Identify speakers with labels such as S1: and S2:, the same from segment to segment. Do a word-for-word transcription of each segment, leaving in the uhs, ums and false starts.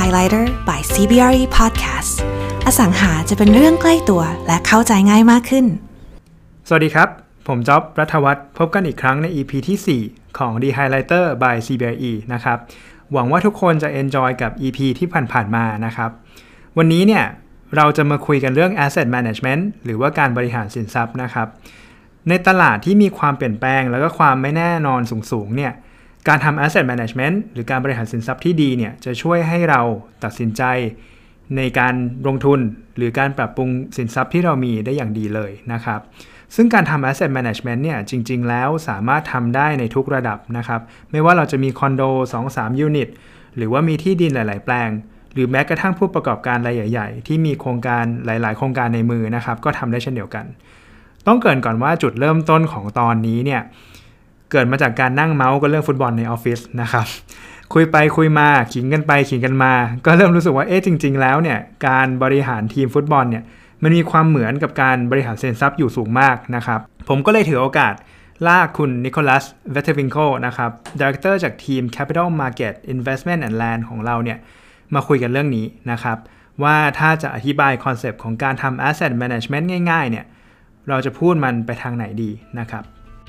S1: Highlighter by ซี บี อาร์ อี Podcast อสังหาจะเป็นเรื่องใกล้ตัวและเข้าใจง่ายมากขึ้น
S2: สวัสดีครับผมจ๊อบรัฐวัฒน์พบกันอีกครั้งใน อี พี ที่สี่ของ The Highlighter by ซี บี อาร์ อี นะครับหวังว่าทุกคนจะ enjoy กับ อี พี ที่ผ่านๆมานะครับวันนี้เนี่ยเราจะมาคุยกันเรื่อง asset management หรือว่าการบริหารสินทรัพย์นะครับในตลาดที่มีความเปลี่ยนแปลงแล้วก็ความไม่แน่นอนสูงๆเนี่ยการทำ asset management หรือการบริหารสินทรัพย์ที่ดีเนี่ยจะช่วยให้เราตัดสินใจในการลงทุนหรือการปรับปรุงสินทรัพย์ที่เรามีได้อย่างดีเลยนะครับซึ่งการทำ asset management เนี่ยจริงๆแล้วสามารถทำได้ในทุกระดับนะครับไม่ว่าเราจะมีคอนโด สองถึงสาม ยูนิตหรือว่ามีที่ดินหลายๆแปลงหรือแม้กระทั่งผู้ประกอบการรายใหญ่ๆที่มีโครงการหลายๆโครงการในมือนะครับก็ทำได้เช่นเดียวกันต้องเกริ่นก่อนว่าจุดเริ่มต้นของตอนนี้เนี่ยเกิดมาจากการนั่งเมาส์กันเรื่องฟุตบอลในออฟฟิศนะครับคุยไปคุยมาขิงกันไปขิงกันมาก็เริ่มรู้สึกว่าเอ๊ะจริงๆแล้วเนี่ยการบริหารทีมฟุตบอลเนี่ยมันมีความเหมือนกับการบริหารสินทรัพย์อยู่สูงมากนะครับผมก็เลยถือโอกาสลากคุณนิโคลัสเวทเทวิงโคนะครับ Director จากทีม Capital Market Investment and Land ของเราเนี่ยมาคุยกันเรื่องนี้นะครับว่าถ้าจะอธิบายคอนเซปต์ของการทำ Asset Management ง่ายๆเนี่ยเราจะพูดมันไปทางไหนดีนะครับ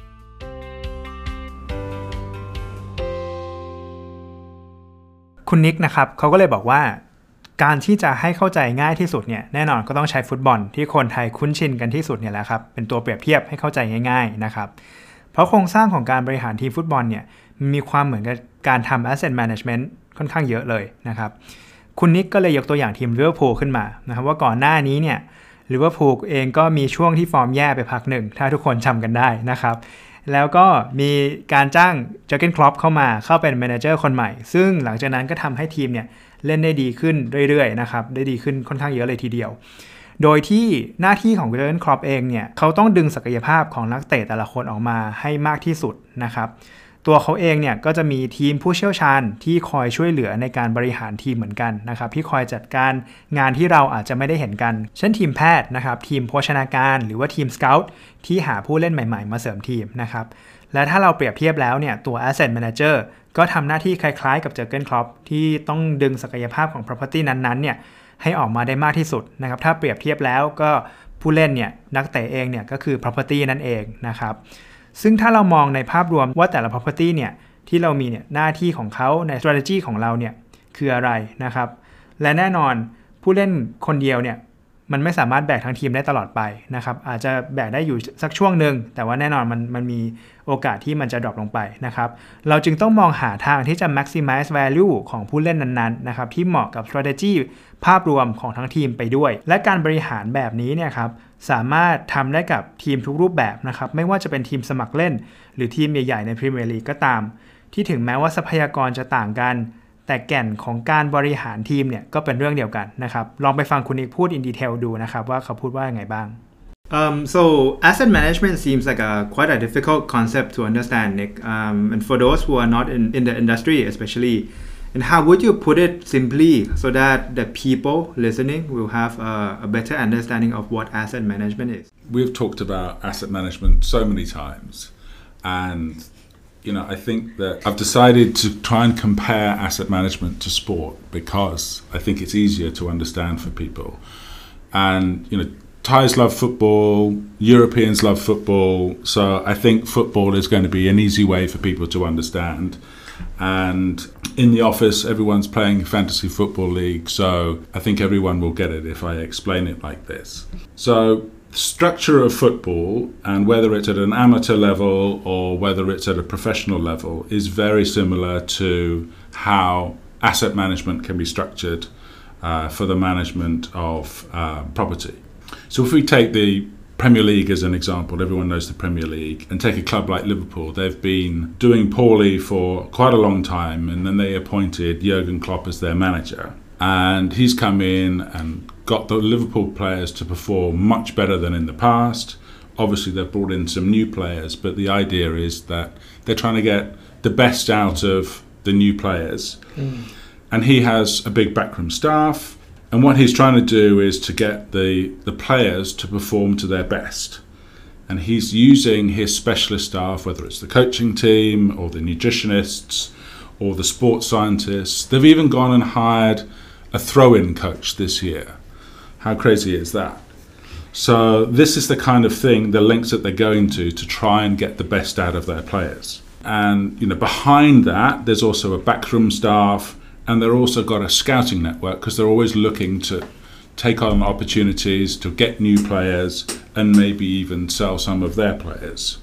S2: คุณนิกนะครับเขาก็เลยบอกว่าการที่จะให้เข้าใจง่ายที่สุดเนี่ยแน่นอนก็ต้องใช้ฟุตบอลที่คนไทยคุ้นชินกันที่สุดเนี่ยแหละครับเป็นตัวเปรียบเทียบให้เข้าใจง่ายๆนะครับเพราะโครงสร้างของการบริหารทีมฟุตบอลเนี่ยมีความเหมือนกับการทำ asset management ค่อนข้างเยอะเลยนะครับคุณนิกก็เลยยกตัวอย่างทีมลิเวอร์พูลขึ้นมานะครับว่าก่อนหน้านี้เนี่ยลิเวอร์พูลเองก็มีช่วงที่ฟอร์มแย่ไปพักหนึ่งถ้าทุกคนจำกันได้นะครับแล้วก็มีการจ้างเจอร์เกนคล็อปเข้ามาเข้าเป็นแมเนเจอร์คนใหม่ซึ่งหลังจากนั้นก็ทำให้ทีมเนี่ยเล่นได้ดีขึ้นเรื่อยๆนะครับได้ดีขึ้นค่อนข้างเยอะเลยทีเดียวโดยที่หน้าที่ของเจอร์เกนคล็อปเองเนี่ยเขาต้องดึงศักยภาพของนักเตะแต่ละคนออกมาให้มากที่สุดนะครับตัวเขาเองเนี่ยก็จะมีทีมผู้เชี่ยวชาญที่คอยช่วยเหลือในการบริหารทีมเหมือนกันนะครับที่คอยจัดการงานที่เราอาจจะไม่ได้เห็นกันเช่นทีมแพทย์นะครับทีมโภชนาการหรือว่าทีมสเกาต์ที่หาผู้เล่นใหม่ๆมาเสริมทีมนะครับและถ้าเราเปรียบเทียบแล้วเนี่ยตัว Asset Manager ก็ทำหน้าที่คล้ายๆกับเจอร์เกนคล็อปที่ต้องดึงศักยภาพของ property นั้นๆเนี่ยให้ออกมาได้มากที่สุดนะครับถ้าเปรียบเทียบแล้วก็ผู้เล่นเนี่ยนักเตะเองเนี่ยก็คือ property นั่นเองนะครับซึ่งถ้าเรามองในภาพรวมว่าแต่ละ property เนี่ยที่เรามีเนี่ยหน้าที่ของเขาใน strategy ของเราเนี่ยคืออะไรนะครับและแน่นอนผู้เล่นคนเดียวเนี่ยมันไม่สามารถแบกทั้งทีมได้ตลอดไปนะครับอาจจะแบกได้อยู่สักช่วงหนึ่งแต่ว่าแน่นอนมันมันมีโอกาสที่มันจะดรอปลงไปนะครับเราจึงต้องมองหาทางที่จะ maximize value ของผู้เล่นนั้นๆนะครับที่เหมาะกับ strategy ภาพรวมของทั้งทีมไปด้วยและการบริหารแบบนี้เนี่ยครับสามารถทำได้กับทีมทุกรูปแบบนะครับไม่ว่าจะเป็นทีมสมัครเล่นหรือทีมใหญ่ๆในพรีเมียร์ลีกก็ตามที่ถึงแม้ว่าทรัพยากรจะต่างกันแต่แก่นของการบริหารทีมเนี่ยก็เป็นเรื่องเดียวกันนะครับลองไปฟังคุณนิกพูด in detail ดูนะครับว่าเขาพูดว่ายังไงบ้าง
S3: Um, so asset management seems like a quite a difficult concept to understand, Nick. Um, and for those who are not in, in the industry, especially, and how would you put it simply so that the people listening will have a, a better understanding of what asset management is?
S4: We've talked about asset management so many times, and you know, I think that I've decided to try and compare asset management to sport because I think it's easier to understand for people. And you know, Thais love football, Europeans love football, so I think football is going to be an easy way for people to understand. And in the office, everyone's playing fantasy football league, so I think everyone will get it if I explain it like this. So the structure of football, and whether it's at an amateur level or whether it's at a professional level, is very similar to how asset management can be structured uh, for the management of uh, property. So if we take the Premier League as an example, everyone knows the Premier League, and take a club like Liverpool, they've been doing poorly for quite a long time, and then they appointed Jurgen Klopp as their manager. And he's come in and got the Liverpool players to perform much better than in the past. Obviously, they've brought in some new players, but the idea is that they're trying to get the best out of the new players. Mm. And he has a big backroom staff. And what he's trying to do is to get the, the players to perform to their best. And he's using his specialist staff, whether it's the coaching team or the nutritionists or the sports scientists. They've even gone and hired a throw-in coach this year. How crazy is that? So this is the kind of thing, the lengths that they're going to to try and get the best out of their players. And you know, behind that, there's also a backroom staff, and they're also got a scouting network because they're always looking to take on opportunities to get new players and maybe even sell some of their players.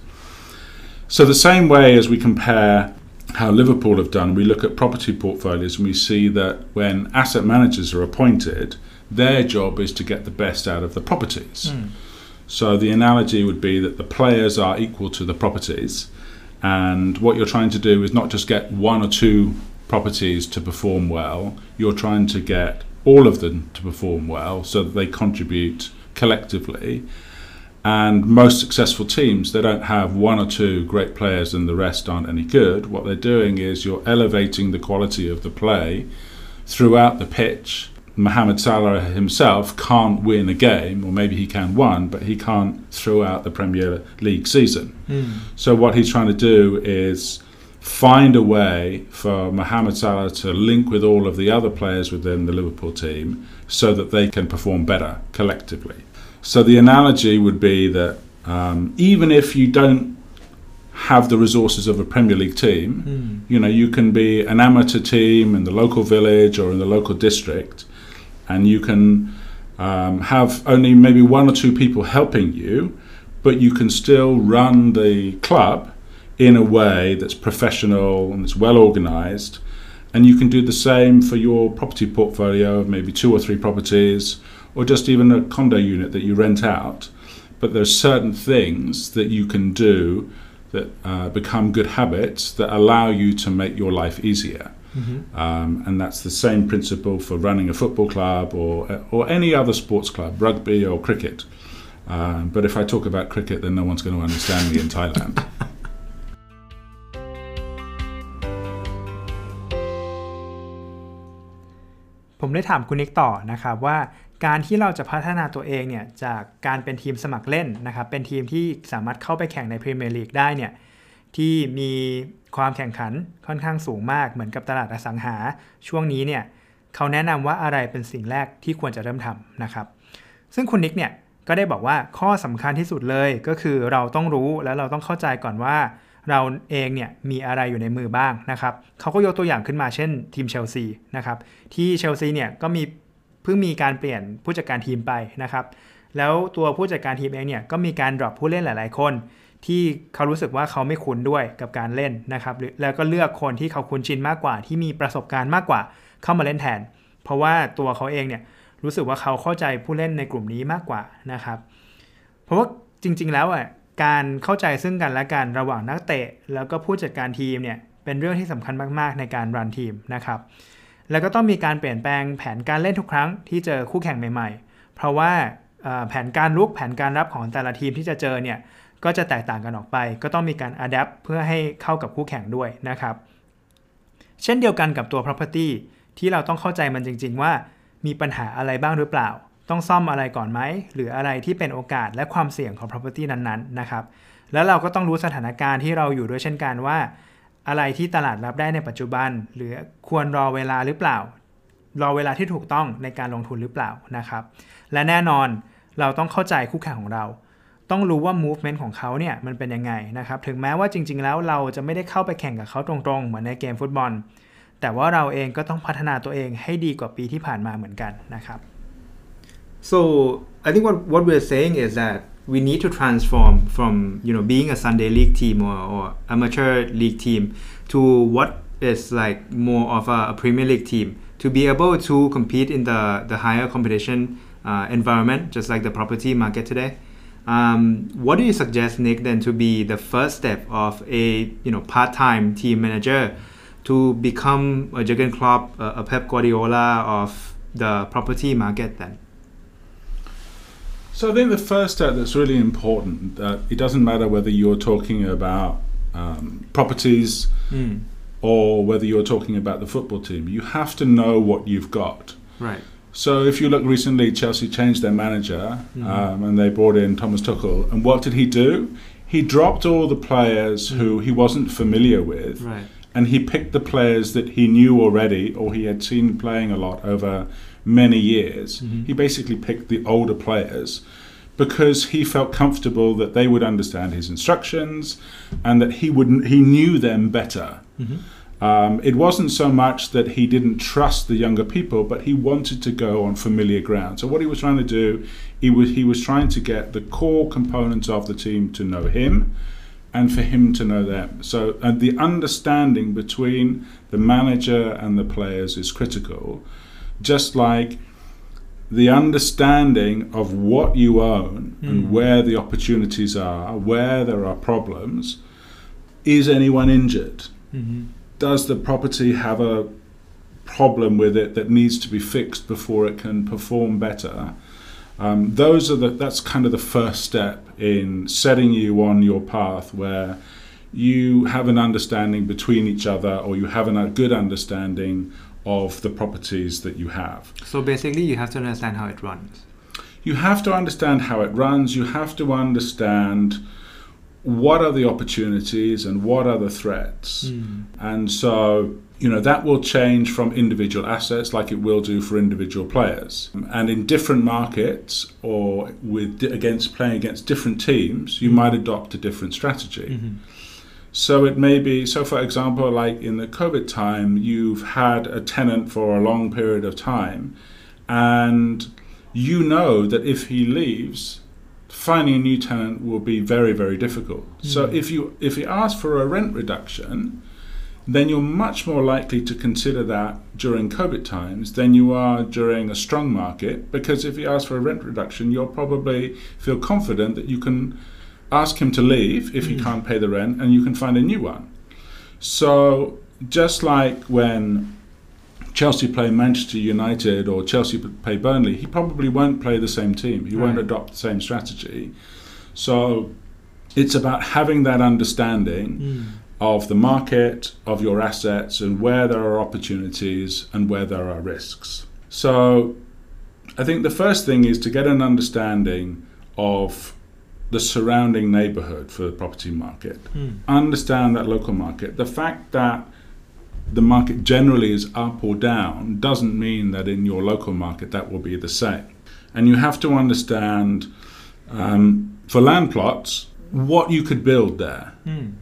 S4: So the same way as we compare how Liverpool have done, we look at property portfolios and we see that when asset managers are appointed, their job is to get the best out of the properties. Mm. So the analogy would be that the players are equal to the properties, and what you're trying to do is not just get one or two properties to perform well, you're trying to get all of them to perform well so that they contribute collectively. And most successful teams, they don't have one or two great players and the rest aren't any good. What they're doing is you're elevating the quality of the play throughout the pitch. Mohamed Salah himself can't win a game, or maybe he can one, but he can't throughout the Premier League season. Mm. So what he's trying to do is find a way for Mohamed Salah to link with all of the other players within the Liverpool team so that they can perform better collectively. So the analogy would be that um, even if you don't have the resources of a Premier League team, mm. you know, you can be an amateur team in the local village or in the local district, and you can um, have only maybe one or two people helping you, but you can still run the club in a way that's professional and it's well organized. And you can do the same for your property portfolio of maybe two or three properties, or just even a condo unit that you rent out. But there's certain things that you can do that uh, become good habits that allow you to make your life easier. Mm-hmm. Um, and that's the same principle for running a football club or or any other sports club, rugby or cricket. Um, but if I talk about cricket, then no one's going to understand me in Thailand.
S2: ผมได้ถามคุณนิกต่อนะครับว่าการที่เราจะพัฒนาตัวเองเนี่ยจากการเป็นทีมสมัครเล่นนะครับเป็นทีมที่สามารถเข้าไปแข่งในพรีเมียร์ลีกได้เนี่ยที่มีความแข่งขันค่อนข้างสูงมากเหมือนกับตลาดอสังหาช่วงนี้เนี่ยเขาแนะนำว่าอะไรเป็นสิ่งแรกที่ควรจะเริ่มทำนะครับซึ่งคุณนิกเนี่ยก็ได้บอกว่าข้อสำคัญที่สุดเลยก็คือเราต้องรู้และเราต้องเข้าใจก่อนว่าเราเองเนี่ยมีอะไรอยู่ในมือบ้างนะครับเขาก็ยกตัวอย่างขึ้นมาเช่นทีมเชลซีนะครับที่เชลซีเนี่ยก็มีเพิ่งมีการเปลี่ยนผู้จัดการทีมไปนะครับแล้วตัวผู้จัดการทีมเองเนี่ยก็มีการดรอปผู้เล่นหลายๆคนที่เขารู้สึกว่าเขาไม่คุ้นด้วยกับการเล่นนะครับแล้วก็เลือกคนที่เขาคุ้นชินมากกว่าที่มีประสบการณ์มากกว่าเข้ามาเล่นแทนเพราะว่าตัวเขาเองเนี่ยรู้สึกว่าเขาเข้าใจผู้เล่นในกลุ่มนี้มากกว่านะครับเพราะว่าจริงๆแล้วอ่ะการเข้าใจซึ่งกันและกันระหว่างนักเตะแล้วก็ผู้จัดการทีมเนี่ยเป็นเรื่องที่สำคัญมากๆในการรันทีมนะครับแล้วก็ต้องมีการเปลี่ยนแปลงแผนการเล่นทุกครั้งที่เจอคู่แข่งใหม่ๆเพราะว่าแผนการรุกแผนการรับของแต่ละทีมที่จะเจอเนี่ยก็จะแตกต่างกันออกไปก็ต้องมีการ adapt เพื่อให้เข้ากับคู่แข่งด้วยนะครับเช่นเดียวกันกับตัว property ที่เราต้องเข้าใจมันจริงๆว่ามีปัญหาอะไรบ้างหรือเปล่าต้องซ่อมอะไรก่อนไหมหรืออะไรที่เป็นโอกาสและความเสี่ยงของ property นั้นๆนะครับแล้วเราก็ต้องรู้สถานการณ์ที่เราอยู่ด้วยเช่นกันว่าอะไรที่ตลาดรับได้ในปัจจุบันหรือควรรอเวลาหรือเปล่ารอเวลาที่ถูกต้องในการลงทุนหรือเปล่านะครับและแน่นอนเราต้องเข้าใจคู่แข่งของเราต้องรู้ว่า movement ของเขาเนี่ยมันเป็นยังไงนะครับถึงแม้ว่าจริงๆแล้วเราจะไม่ได้เข้าไปแข่งกับเขาตรงๆเหมือนในเกมฟุตบอลแต่ว่าเราเองก็ต้องพัฒนาตัวเองให้ดีกว่าปีที่ผ่านมาเหมือนกันนะครับ
S3: So I think what what we're saying is that we need to transform from you know being a Sunday league team or, or amateur league team to what is like more of a, a Premier League team to be able to compete in the the higher competition uh, environment just like the property market today. Um, what do you suggest, Nick, then to be the first step of a you know part-time team manager to become a Jurgen Klopp, a, a Pep Guardiola of the property market then?
S4: So I think the first step that's really important, that it doesn't matter whether you're talking about um, properties mm. or whether you're talking about the football team, you have to know what you've got.
S3: Right.
S4: So if you look recently, Chelsea changed their manager mm. um, and they brought in Thomas Tuchel. And what did he do? He dropped all the players mm. who he wasn't familiar with
S3: right.
S4: and he picked the players that he knew already or he had seen playing a lot over many years. Mm-hmm. He basically picked the older players because he felt comfortable that they would understand his instructions and that he wouldn't he knew them better. Mm-hmm. Um, it wasn't so much that he didn't trust the younger people, but he wanted to go on familiar ground. So what he was trying to do, he was he was trying to get the core components of the team to know him and for him to know them. So uh, the understanding between the manager and the players is critical, just like the understanding of what you own mm. and where the opportunities are, where there are problems. Is anyone injured? Mm-hmm. Does the property have a problem with it that needs to be fixed before it can perform better? Um, those are the that's kind of the first step in setting you on your path where you have an understanding between each other, or you have a good understanding of the properties that you have.
S2: So basically you have to understand how it runs.
S4: You have to understand how it runs. You have to understand what are the opportunities and what are the threats. Mm. And so, you know, that will change from individual assets like it will do for individual players. And in different markets or with against playing against different teams, you might adopt a different strategy. Mm-hmm. So it may be, so for example, like in the COVID time, you've had a tenant for a long period of time, and you know that if he leaves, finding a new tenant will be very, very difficult. Mm. So if you if you ask for a rent reduction, then you're much more likely to consider that during COVID times than you are during a strong market, because if you ask for a rent reduction, you'll probably feel confident that you can ask him to leave if he mm. can't pay the rent, and you can find a new one. So just like when Chelsea play Manchester United or Chelsea play Burnley, he probably won't play the same team. He right. won't adopt the same strategy. So it's about having that understanding mm. of the market, of your assets, and where there are opportunities and where there are risks. So I think the first thing is to get an understanding of the surrounding neighborhood for the property market. Mm. Understand that local market. The fact that the market generally is up or down doesn't mean that in your local market that will be the same. And you have to understand, um, for land plots, what you could build there. Mm.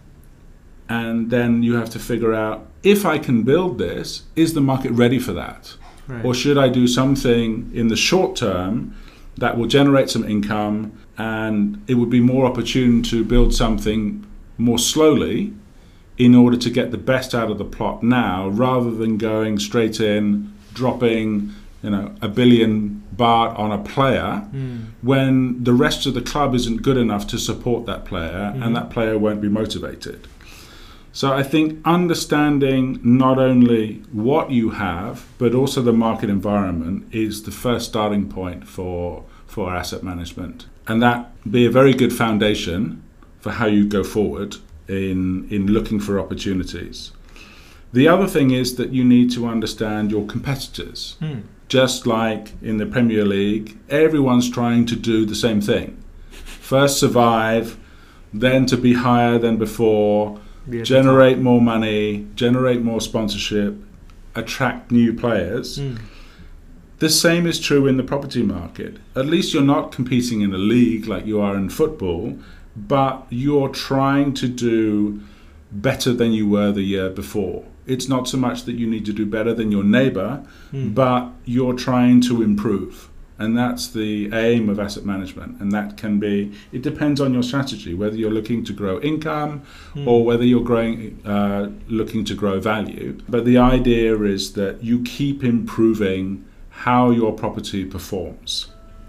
S4: And then you have to figure out, if I can build this, is the market ready for that? Right. Or should I do something in the short term that will generate some income, and it would be more opportune to build something more slowly in order to get the best out of the plot now, rather than going straight in, dropping, you know, a billion baht on a player mm. when the rest of the club isn't good enough to support that player, mm-hmm. and that player won't be motivated. So I think understanding not only what you have, but also the market environment is the first starting point for for asset management. And that be a very good foundation for how you go forward in in looking for opportunities. The other thing is that you need to understand your competitors. Mm. Just like in the Premier League, everyone's trying to do the same thing. First survive, then to be higher than before, generate more money, generate more sponsorship, attract new players. Mm. The same is true in the property market. At least you're not competing in a league like you are in football, but you're trying to do better than you were the year before. It's not so much that you need to do better than your neighbor, mm. but you're trying to improve. And that's the aim of asset management. And that can be, it depends on your strategy, whether you're looking to grow income mm. or whether you're growing, uh, looking to grow value. But the idea is that you keep improving how your property performs.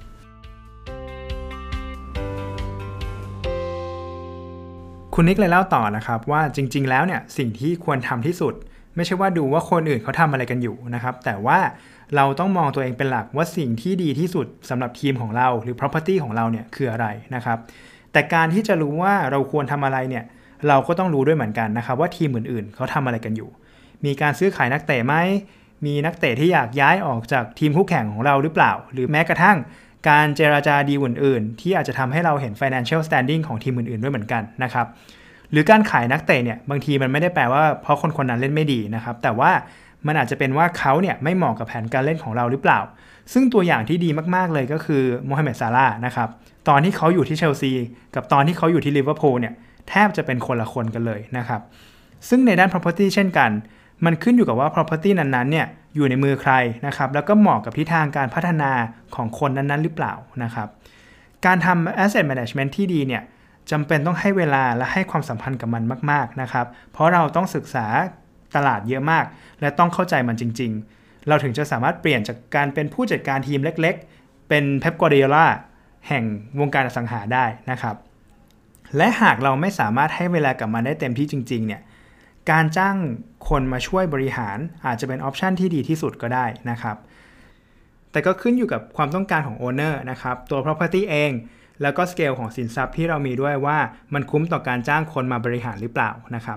S2: คุณนิกเลยเล่าต่อนะครับว่าจริงๆแล้วเนี่ยสิ่งที่ควรทำที่สุดไม่ใช่ว่าดูว่าคนอื่นเขาทำอะไรกันอยู่นะครับแต่ว่าเราต้องมองตัวเองเป็นหลักว่าสิ่งที่ดีที่สุดสำหรับทีมของเราหรือ property ของเราเนี่ยคืออะไรนะครับแต่การที่จะรู้ว่าเราควรทำอะไรเนี่ยเราก็ต้องรู้ด้วยเหมือนกันนะครับว่าทีมอื่นๆเขาทำอะไรกันอยู่มีการซื้อขายนักเตะไหมมีนักเตะที่อยากย้ายออกจากทีมคู่แข่งของเราหรือเปล่าหรือแม้กระทั่งการเจรจาดีลอื่นๆที่อาจจะทำให้เราเห็น financial standing ของทีมอื่นๆด้วยเหมือนกันนะครับหรือการขายนักเตะเนี่ยบางทีมันไม่ได้แปลว่าเพราะคนคนนั้นเล่นไม่ดีนะครับแต่ว่ามันอาจจะเป็นว่าเขาเนี่ยไม่เหมาะกับแผนการเล่นของเราหรือเปล่าซึ่งตัวอย่างที่ดีมากๆเลยก็คือโมฮัมเหม็ดซาลาห์นะครับตอนที่เขาอยู่ที่เชลซีกับตอนที่เขาอยู่ที่ลิเวอร์พูลเนี่ยแทบจะเป็นคนละคนกันเลยนะครับซึ่งในด้าน property เช่นกันมันขึ้นอยู่กับว่า property นั้นๆเนี่ยอยู่ในมือใครนะครับแล้วก็เหมาะกับทิศทางการพัฒนาของคนนั้นๆหรือเปล่านะครับการทำ asset management ที่ดีเนี่ยจำเป็นต้องให้เวลาและให้ความสัมพันธ์กับมันมากๆนะครับเพราะเราต้องศึกษาตลาดเยอะมากและต้องเข้าใจมันจริงๆเราถึงจะสามารถเปลี่ยนจากการเป็นผู้จัดการทีมเล็กๆเป็นเป๊ป กวาร์ดิโอลาแห่งวงการอสังหาได้นะครับและหากเราไม่สามารถให้เวลากับมันได้เต็มที่จริงๆเนี่ยการจ้างคนมาช่วยบริหารอาจจะเป็นออปชันที่ดีที่สุดก็ได้นะครับแต่ก็ขึ้นอยู่กับความต้องการของโอนเนอร์นะครับตัว property เองแล้วก็สเกลของสินทรัพย์ที่เรามีด้วยว่ามันคุ้มต่อการจ้างคนมาบริหารหรือเปล่านะครับ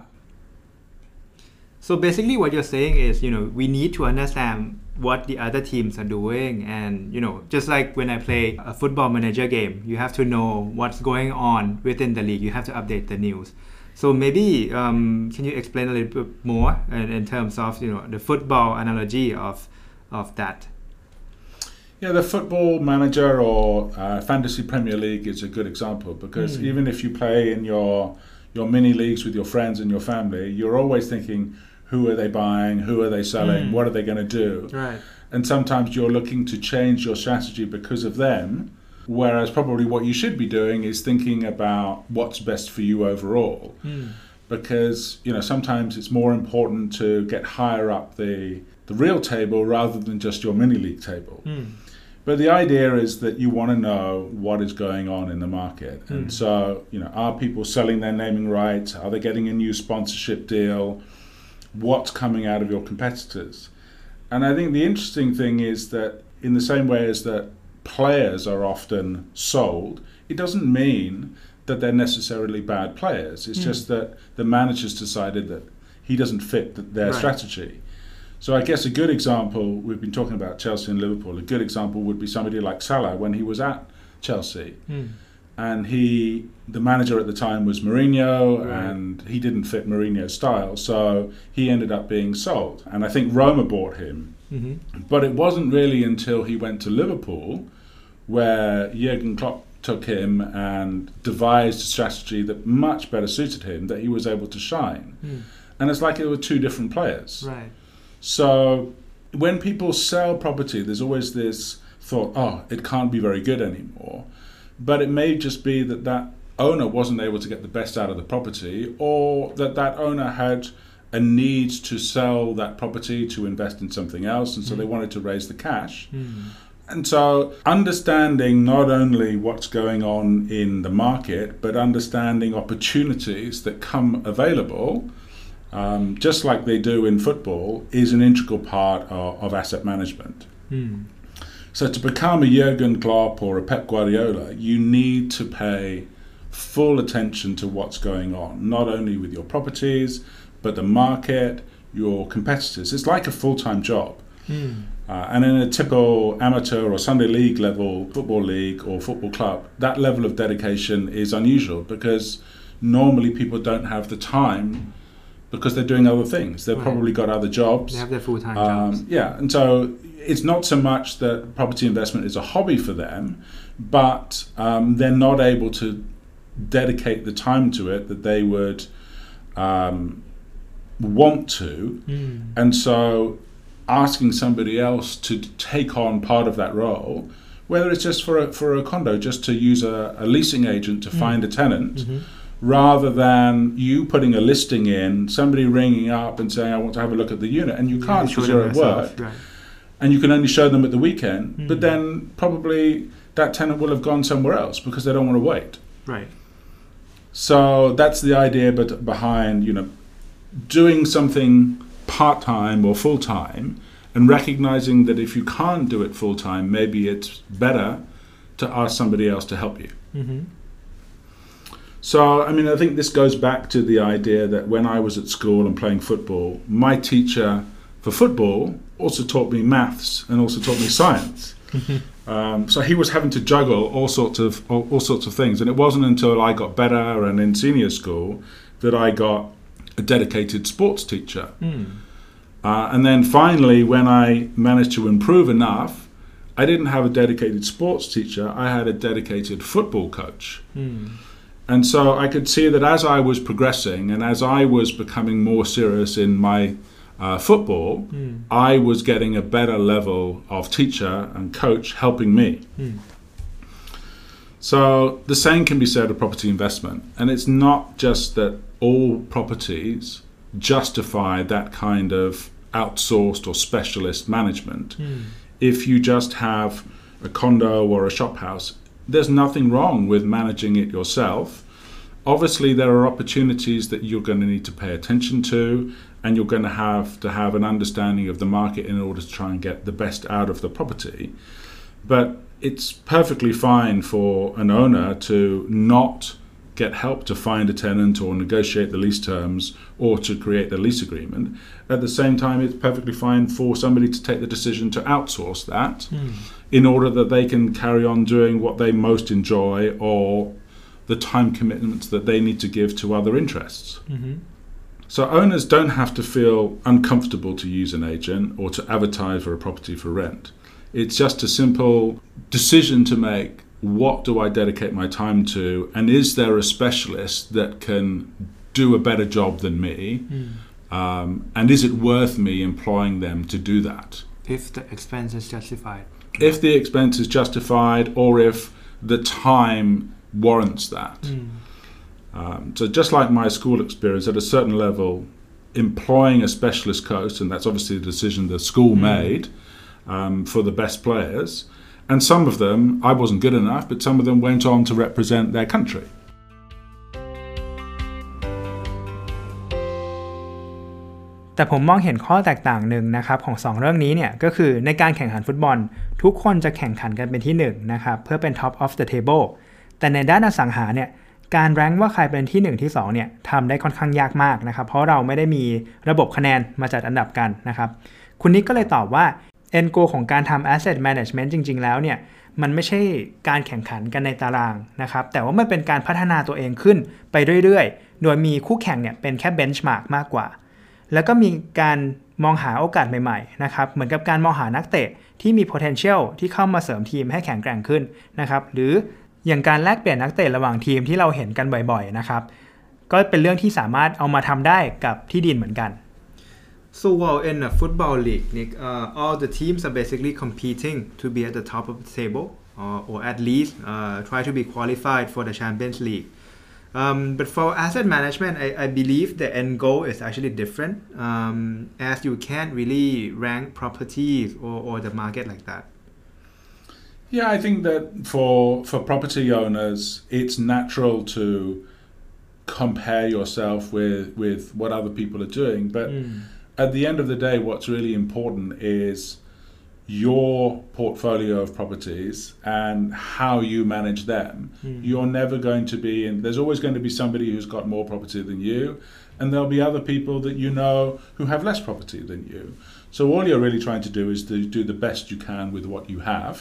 S3: So basically what you're saying is, you know, we need to understand what the other teams are doing, and you know, just like when I play a football manager game, you have to know what's going on within the league. You have to update the news. So maybe um, can you explain a little bit more in, in terms of, you know, the football analogy of of that?
S4: Yeah, the Football Manager or uh, Fantasy Premier League is a good example because mm. even if you play in your your mini leagues with your friends and your family, you're always thinking, who are they buying? Who are they selling? Mm. What are they going to do?
S3: Right.
S4: And sometimes you're looking to change your strategy because of them, whereas probably what you should be doing is thinking about what's best for you overall.
S3: Mm.
S4: Because, you know, sometimes it's more important to get higher up the the real table rather than just your mini league table.
S3: Mm.
S4: But the idea is that you want to know what is going on in the market. Mm. And so, you know, are people selling their naming rights? Are they getting a new sponsorship deal? What's coming out of your competitors? And I think the interesting thing is that in the same way as that players are often sold, it doesn't mean that they're necessarily bad players. It's mm. just that the manager's decided that he doesn't fit their
S3: right.
S4: strategy. So I guess a good example, we've been talking about Chelsea and Liverpool, a good example would be somebody like Salah when he was at Chelsea.
S3: Mm.
S4: And he, the manager at the time was Mourinho,
S3: right.
S4: and he didn't fit Mourinho's style, so he ended up being sold. And I think Roma bought him.
S3: Mm-hmm.
S4: But it wasn't really until he went to Liverpool where Jurgen Klopp took him and devised a strategy that much better suited him that he was able to shine.
S3: Mm.
S4: And it's like it were two different players.
S3: Right.
S4: So when people sell property, there's always this thought, oh, it can't be very good anymore. But it may just be that that owner wasn't able to get the best out of the property, or that that owner had a need to sell that property to invest in something else, and so mm. they wanted to raise the cash.
S3: Mm.
S4: And so understanding not only what's going on in the market, but understanding opportunities that come available, um, just like they do in football, is an integral part of, of asset management.
S3: Mm.
S4: So to become a Jurgen Klopp or a Pep Guardiola, you need to pay full attention to what's going on, not only with your properties, but the market, your competitors. It's like a full-time job.
S3: Mm.
S4: Uh, and in a typical amateur or Sunday league level football league or football club, that level of dedication is unusual because normally people don't have the time because they're doing other things. They've
S3: right.
S4: probably got other jobs.
S3: They have their full-time
S4: um,
S3: jobs.
S4: Yeah, and so it's not so much that property investment is a hobby for them, but um, they're not able to dedicate the time to it that they would um, want to.
S3: Mm.
S4: And so asking somebody else to take on part of that role, whether it's just for a, for a condo, just to use a, a leasing agent to mm. find a tenant,
S3: mm-hmm.
S4: rather than you putting a listing in, somebody ringing up and saying, I want to have a look at the unit, and you can't because you're at work.
S3: Right.
S4: And you can only show them at the weekend,
S3: mm.
S4: but then probably that tenant will have gone somewhere else because they don't want to wait.
S3: Right.
S4: So that's the idea but behind, you know, doing something part-time or full-time and recognizing that if you can't do it full-time, maybe it's better to ask somebody else to help you.
S3: Mm-hmm.
S4: So, I mean, I think this goes back to the idea that when I was at school and playing football, my teacher for football also taught me maths and also taught me science. um, so he was having to juggle all sorts of all, all sorts of things, and it wasn't until I got better and in senior school that I got a dedicated sports teacher.
S2: Mm.
S4: Uh, and then finally, when I managed to improve enough, I didn't have a dedicated sports teacher, I had a dedicated football coach.
S2: Mm.
S4: And so I could see that as I was progressing and as I was becoming more serious in my uh, football,
S2: mm.
S4: I was getting a better level of teacher and coach helping me.
S2: Mm.
S4: So the same can be said of property investment. And it's not just that all properties justify that kind of outsourced or specialist management.
S2: Mm.
S4: If you just have a condo or a shop house, there's nothing wrong with managing it yourself. Obviously, there are opportunities that you're going to need to pay attention to, and you're going to have to have an understanding of the market in order to try and get the best out of the property. But it's perfectly fine for an owner to not get help to find a tenant or negotiate the lease terms or to create the lease agreement. At the same time, it's perfectly fine for somebody to take the decision to outsource that
S2: mm.
S4: in order that they can carry on doing what they most enjoy or the time commitments that they need to give to other interests.
S2: Mm-hmm.
S4: So owners don't have to feel uncomfortable to use an agent or to advertise for a property for rent. It's just a simple decision to make. What do I dedicate my time to? And is there a specialist that can do a better job than me?
S2: Mm.
S4: Um, and is it worth me employing them to do that?
S2: If the expense is justified.
S4: If the expense is justified or if the time warrants that.
S2: Mm.
S4: Um, so just like my school experience, at a certain level, employing a specialist coach, and that's obviously a decision the school mm. made um, for the best players, and some of them, I wasn't good enough, but some of them went on to represent their country.
S2: แต่ผมมองเห็นข้อแตกต่างหนึ่งนะครับของสองเรื่องนี้เนี่ยก็คือในการแข่งขันฟุตบอลทุกคนจะแข่งขันกันเป็นที่หนึ่งนะครับเพื่อเป็น top of the table แต่ในด้านอสังหาเนี่ยการแรงค์ว่าใครเป็นที่หนึ่งที่สองเนี่ยทำได้ค่อนข้างยากมากนะครับเพราะเราไม่ได้มีระบบคะแนนมาจัดอันดับกันนะครับคุณนิกก็เลยตอบว่าend goal ของการทำ asset management จริงๆแล้วเนี่ยมันไม่ใช่การแข่งขันกันในตารางนะครับแต่ว่ามันเป็นการพัฒนาตัวเองขึ้นไปเรื่อยๆโดยมีคู่แข่งเนี่ยเป็นแค่ benchmark มากกว่าแล้วก็มีการมองหาโอกาสใหม่ๆนะครับเหมือนกับการมองหานักเตะที่มี potential ที่เข้ามาเสริมทีมให้แข็งแกร่งขึ้นนะครับหรืออย่างการแลกเปลี่ยนนักเตะระหว่างทีมที่เราเห็นกันบ่อยๆนะครับก็เป็นเรื่องที่สามารถเอามาทำได้กับที่ดินเหมือนกัน
S3: So while in a football league, Nick, uh, all the teams are basically competing to be at the top of the table, or, or at least uh, try to be qualified for the Champions League. Um, but for asset management, I, I believe the end goal is actually different, um, as you can't really rank properties or, or the market like that.
S4: Yeah, I think that for for property owners, it's natural to compare yourself with, with what other people are doing, but mm. at the end of the day, what's really important is your portfolio of properties and how you manage them. Mm. You're never going to be, and there's always going to be somebody who's got more property than you, and there'll be other people that you know who have less property than you. So all you're really trying to do is to do the best you can with what you have,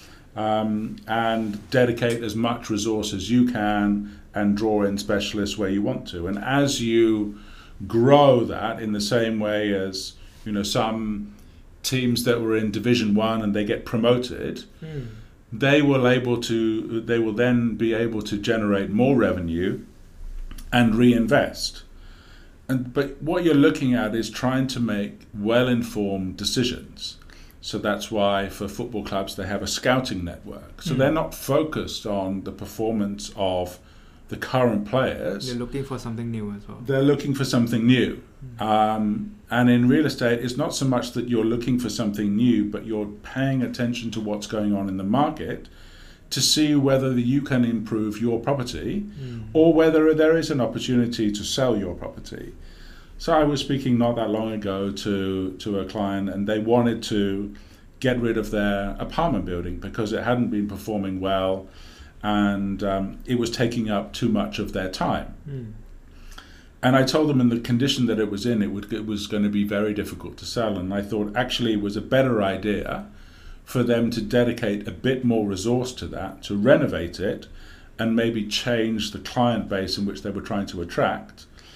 S4: um, and dedicate as much resource as you can and draw in specialists where you want to. And as you grow that in the same way as, you know, some teams that were in Division One and they get promoted, mm. they will able to they will then be able to generate more revenue and reinvest. And but what you're looking at is trying to make well-informed decisions. So that's why for football clubs they have a scouting network. So mm. they're not focused on the performance of the current players.
S3: They're looking for something new as well.
S4: They're looking for something new. Mm. Um, and in real estate, it's not so much that you're looking for something new, but you're paying attention to what's going on in the market to see whether you can improve your property mm. or whether there is an opportunity to sell your property. So I was speaking not that long ago to, to a client, and they wanted to get rid of their apartment building because it hadn't been performing well, and um, it was taking up too much of their time. Mm. And I told them in the condition that it was in, it, would, it was going to be very difficult to sell. And I thought actually it was a better idea for them to dedicate a bit more resource to that, to renovate it, and maybe change the client base in which they were trying to attract,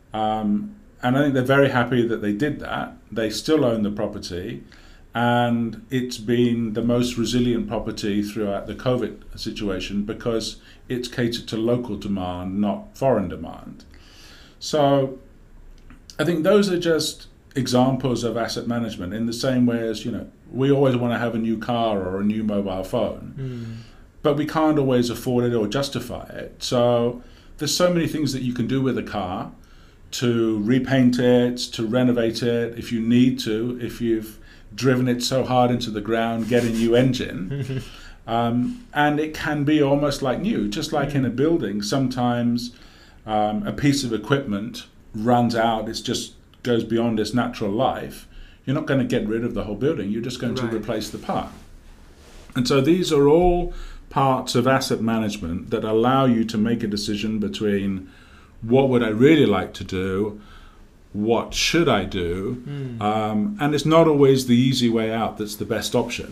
S4: Um, and I think they're very happy that they did that. They still own the property, and it's been the most resilient property throughout the COVID situation because it's catered to local demand, not foreign demand. So I think those are just examples of asset management in the same way as, you know, we always want to have a new car or a new mobile phone, mm. but we can't always afford it or justify it. So there's so many things that you can do with a car to repaint it, to renovate it if you need to, if you've driven it so hard into the ground, get a new engine. um, and it can be almost like new, just like mm. in a building. Sometimes um, a piece of equipment runs out, it just goes beyond its natural life. You're not going to get rid of the whole building, you're just going right. to replace the part. And so these are all parts of asset management that allow you to make a decision between what would I really like to do, what should I do, mm. um, and it's not always the easy way out that's the best option.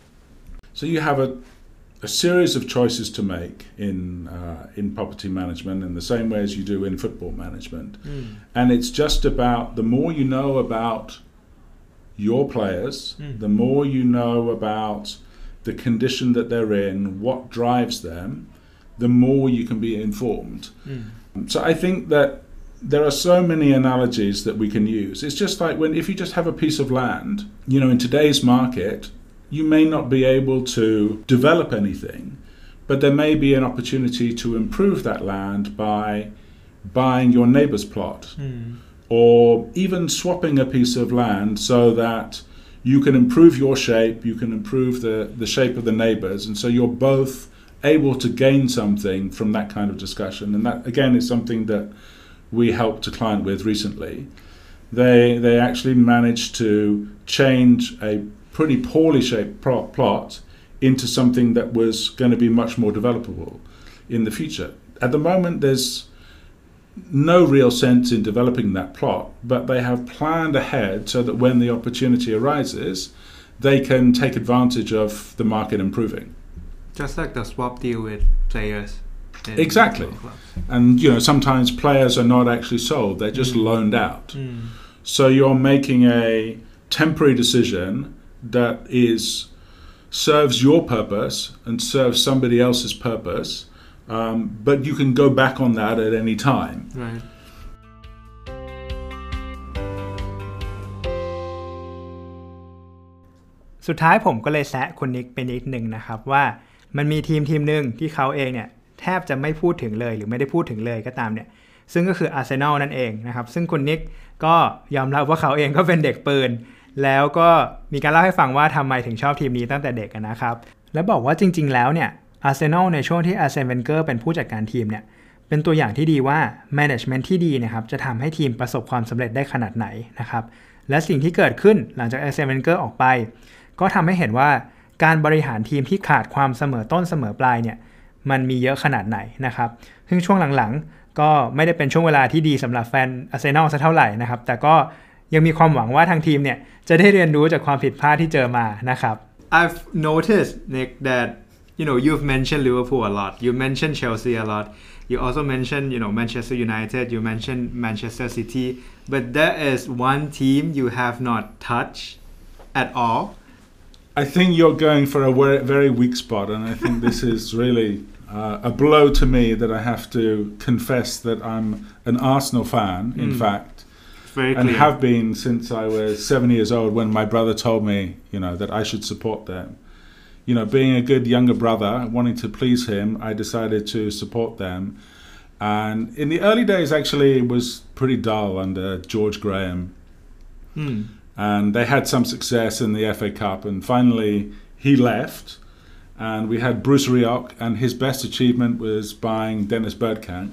S4: So you have a, a series of choices to make in uh, in property management in the same way as you do in football management. Mm. And it's just about the more you know about your players, mm. the more you know about the condition that they're in, what drives them, the more you can be informed. Mm. So I think that there are so many analogies that we can use. It's just like when if you just have a piece of land, you know, in today's market, you may not be able to develop anything, but there may be an opportunity to improve that land by buying your neighbor's plot, mm. or even swapping a piece of land so that you can improve your shape, you can improve the, the shape of the neighbors, and so you're both able to gain something from that kind of discussion. And that, again, is something that we helped a client with recently. They they actually managed to change a pretty poorly shaped plot into something that was going to be much more developable in the future. At the moment, there's no real sense in developing that plot, but they have planned ahead so that when the opportunity arises, they can take advantage of the market improving.
S3: Just like the swap deal with players.
S4: Exactly. And, you know, sometimes players are not actually sold, they're just mm. loaned out. Mm. So you're making a temporary decision that is serves your purpose and serves somebody else's purpose, um, but you can go back on that at any time.
S3: Right.
S2: สุดท้ายผมก็เลยแซะคุณนิกไปนิดนึงนะครับว่ามันมีทีมทีมนึงที่เขาเองเนี่ยแทบจะไม่พูดถึงเลยหรือไม่ได้พูดถึงเลยก็ตามเนี่ยซึ่งก็คืออาร์เซนอลนั่นเองนะครับซึ่งคุณนิกก็ยอมรับว่าเขาเองก็เป็นเด็กปืนแล้วก็มีการเล่าให้ฟังว่าทำไมถึงชอบทีมนี้ตั้งแต่เด็กนะครับและบอกว่าจริงๆแล้วเนี่ยอาร์เซนอลในช่วงที่อาร์เซนเวนเกอร์เป็นผู้จัดการทีมเนี่ยเป็นตัวอย่างที่ดีว่าแมネจเมนต์ที่ดีนะครับจะทำให้ทีมประสบความสำเร็จได้ขนาดไหนนะครับและสิ่งที่เกิดขึ้นหลังจากอาร์เซนเวนเกอร์ออกไปก็ทำให้เห็นว่าการบริหารทีมที่ขาดความเสมอต้นเสมอปลายเนี่ยมันมีเยอะขนาดไหนนะครับซึ่งช่วงหลังๆก็ไม่ได้เป็นช่วงเวลาที่ดีสำหรับแฟนอาร์เซนอลสักเท่าไหร่นะครับแต่ก็ยังมีความหวังว่าทางทีมเนี่ยจะได้เรียนรู้จากความผิดพลาดที่เจอมานะครับ
S3: I've noticed Nick that you know you've mentioned Liverpool a lot, you mentioned Chelsea a lot, you also mentioned you know Manchester United, you mentioned Manchester City, but there is one team you have not touched at all.
S4: I think you're going for a very weak spot, and I think this is really uh, a blow to me that I have to confess that I'm an Arsenal fan, in mm. fact, and have been since I was seven years old when my brother told me, you know, that I should support them. You know, being a good younger brother, wanting to please him, I decided to support them. And in the early days, actually, it was pretty dull under George Graham. Mm. And they had some success in the F A Cup, and finally he left, and we had Bruce Rioch, and his best achievement was buying Dennis Bergkamp.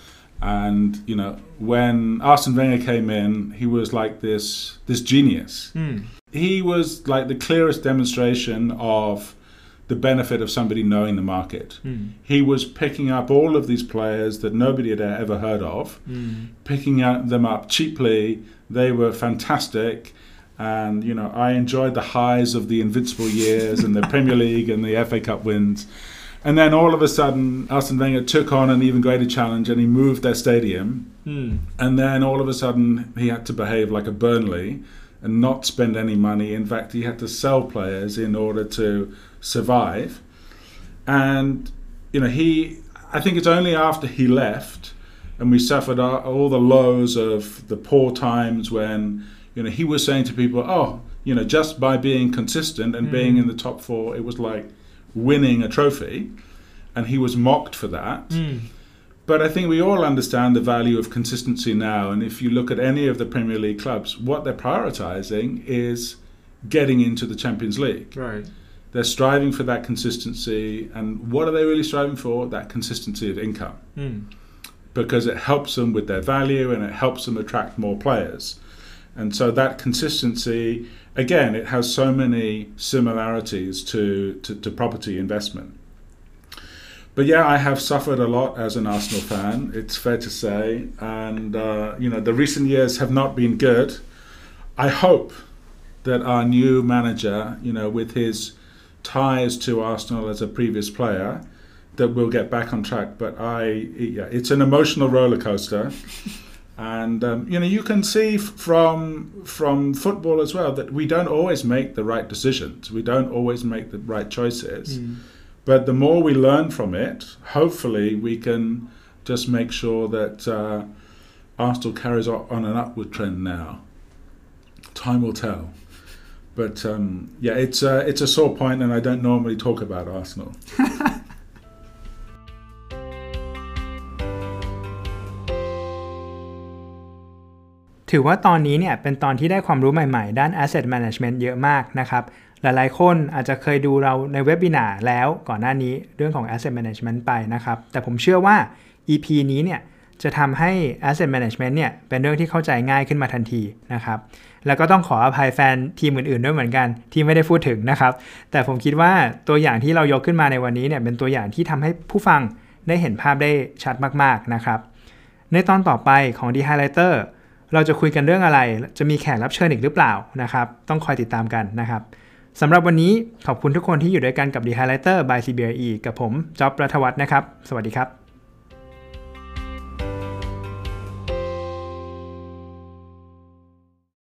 S4: And you know, when Arsene Wenger came in, he was like this this genius. Mm. He was like the clearest demonstration of the benefit of somebody knowing the market. Mm. He was picking up all of these players that nobody had ever heard of, mm. picking them up cheaply. They were fantastic. And, you know, I enjoyed the highs of the invincible years and the Premier League and the F A Cup wins. And then all of a sudden, Arsene Wenger took on an even greater challenge and he moved their stadium.
S2: Mm.
S4: And then all of a sudden, he had to behave like a Burnley and not spend any money. In fact, he had to sell players in order to survive. And, you know, he, I think it's only after he left and we suffered all the lows of the poor times when, you know, he was saying to people, oh, you know, just by being consistent and mm. being in the top four, it was like winning a trophy, and he was mocked for that.
S2: Mm.
S4: But I think we all understand the value of consistency now, and if you look at any of the Premier League clubs, what they're prioritizing is getting into the Champions League.
S2: Right.
S4: They're striving for that consistency, and what are they really striving for? That consistency of income.
S2: Mm.
S4: Because it helps them with their value and it helps them attract more players. And so that consistency, again, it has so many similarities to, to, to property investment. But yeah, I have suffered a lot as an Arsenal fan, it's fair to say. And, uh, you know, the recent years have not been good. I hope that our new manager, you know, with his ties to Arsenal as a previous player, that we'll get back on track. But I, yeah, it's an emotional roller coaster. And, um, you know, you can see f- from from football as well that we don't always make the right decisions. We don't always make the right choices. Mm. But the more we learn from it, hopefully we can just make sure that uh, Arsenal carries on an upward trend now. Time will tell. But, um, yeah, it's, uh, it's a sore point, and I don't normally talk about Arsenal.
S2: ถือว่าตอนนี้เนี่ยเป็นตอนที่ได้ความรู้ใหม่ๆด้าน Asset Management เยอะมากนะครับหลายๆคนอาจจะเคยดูเราในเว็บบินาร์แล้วก่อนหน้านี้เรื่องของ Asset Management ไปนะครับแต่ผมเชื่อว่า อี พี นี้เนี่ยจะทำให้ Asset Management เนี่ยเป็นเรื่องที่เข้าใจง่ายขึ้นมาทันทีนะครับแล้วก็ต้องขออภัยแฟนทีมอื่นๆด้วยเหมือนกันที่ไม่ได้พูดถึงนะครับแต่ผมคิดว่าตัวอย่างที่เรายกขึ้นมาในวันนี้เนี่ยเป็นตัวอย่างที่ทำให้ผู้ฟังได้เห็นภาพได้ชัดมากๆนะครับในตอนต่อไปของ The Highlighterเราจะคุยกันเรื่องอะไรจะมีแขกรับเชิญอีกหรือเปล่านะครับต้องคอยติดตามกันนะครับสำหรับวันนี้ขอบคุณทุกคนที่อยู่ด้วยกันกับ The Highlighter by ซี บี อาร์ อี กับผมจ๊อบ รัฐวัฒน์นะครับสวัสดีครับ